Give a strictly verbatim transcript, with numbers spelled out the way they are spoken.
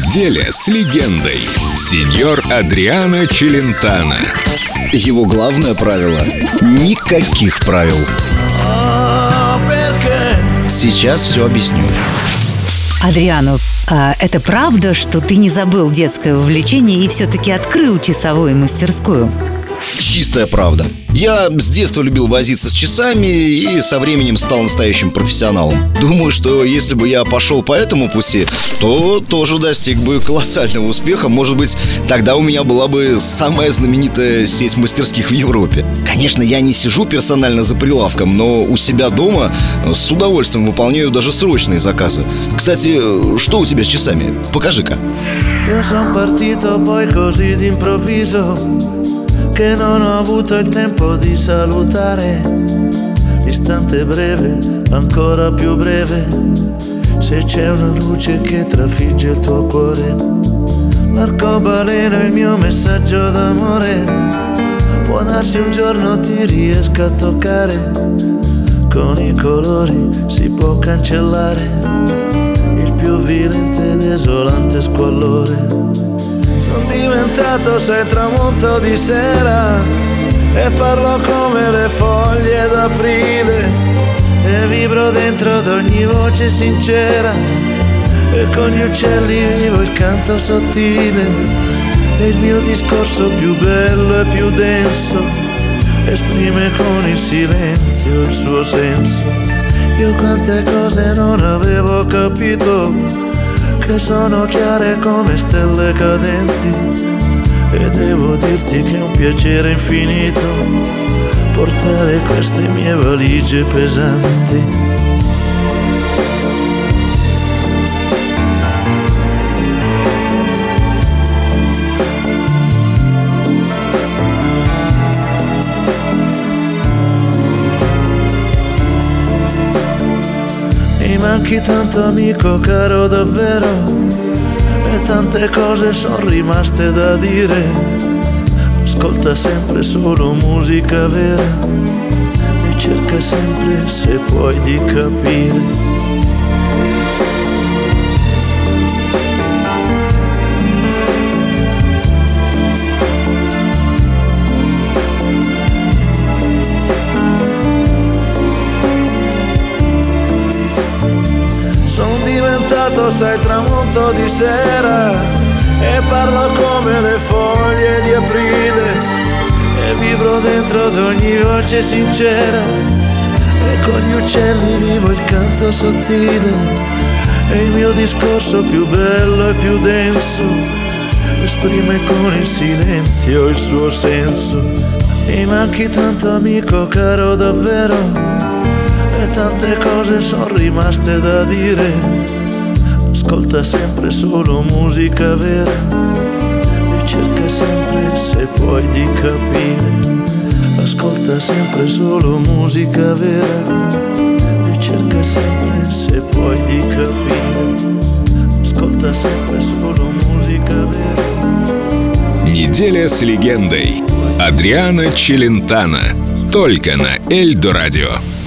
Неделя с легендой. Сеньор Адриано Челентано. Его главное правило – никаких правил. Сейчас все объясню. Адриано, а это правда, что ты не забыл детское увлечение и все-таки открыл часовую мастерскую? Чистая правда. Я с детства любил возиться с часами и со временем стал настоящим профессионалом. Думаю, что если бы я пошел по этому пути, то тоже достиг бы колоссального успеха. Может быть, тогда у меня была бы самая знаменитая сеть мастерских в Европе. Конечно, я не сижу персонально за прилавком, но у себя дома с удовольствием выполняю даже срочные заказы. Кстати, что у тебя с часами? Покажи-ка. Che non ho avuto il tempo di salutare, l'istante breve, ancora più breve, se c'è una luce che trafigge il tuo cuore, l'arcobaleno è il mio messaggio d'amore, può darsi un giorno ti riesca a toccare, con i colori si può cancellare il più violento ed esolante squallore. Sono diventato sei tramonto di sera e parlo come le foglie d'aprile e vibro dentro ad ogni voce sincera e con gli uccelli vivo il canto sottile e il mio discorso più bello e più denso esprime con il silenzio il suo senso. Io quante cose non avevo capito che sono chiare come stelle cadenti e devo dirti che è un piacere infinito portare queste mie valigie pesanti. Mi manchi tanto amico caro davvero e tante cose sono rimaste da dire. Ascolta sempre solo musica vera e cerca sempre se puoi di capire. Sai tramonto di sera e parlo come le foglie di aprile e vibro dentro ad ogni voce sincera e con gli uccelli vivo il canto sottile e il mio discorso più bello e più denso esprime con il silenzio il suo senso. Mi manchi tanto amico caro davvero e tante cose sono rimaste da dire. Ascolta sempre solo musica vera e cerca sempre se puoi di capire. Ascolta sempre solo musica vera e cerca sempre se puoi di capire. Ascolta sempre solo musica vera. Неделя с легендой. Адриано Челентано. Только на Эльдо Радио.